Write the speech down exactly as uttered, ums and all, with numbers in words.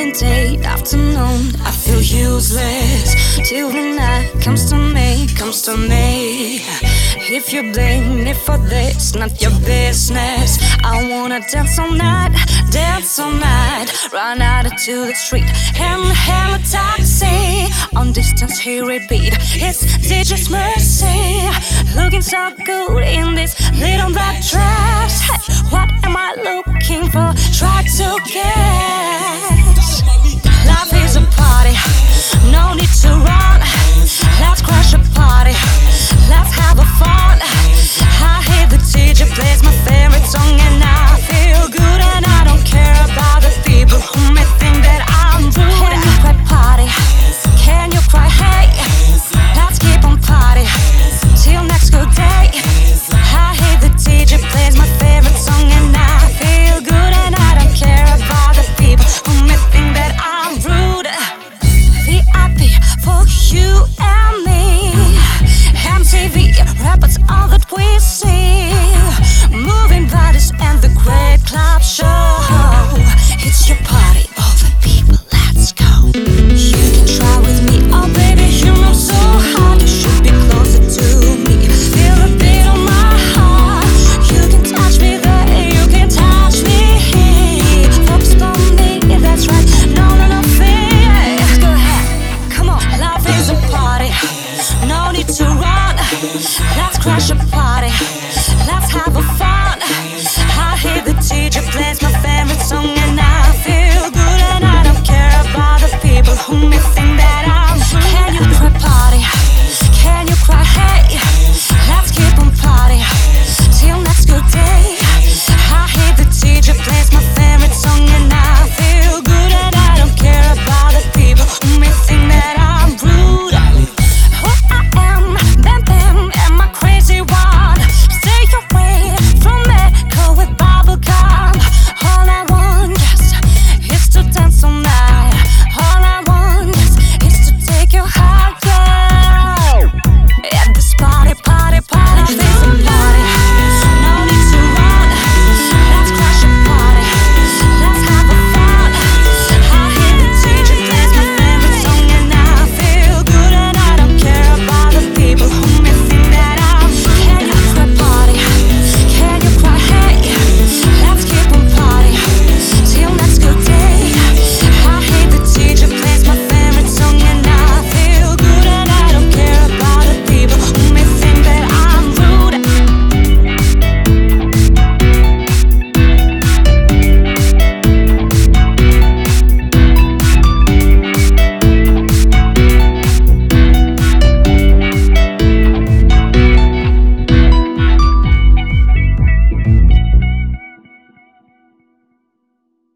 Monday afternoon. I feel useless till the night comes to me, comes to me. If you blame me for this, not your business. I wanna dance all night, dance all night. Run out into the street and hail a taxi. On distance he repeat, it's D J's Mercy. Looking so good in this little black dress. Hey, what am I looking for? Try to get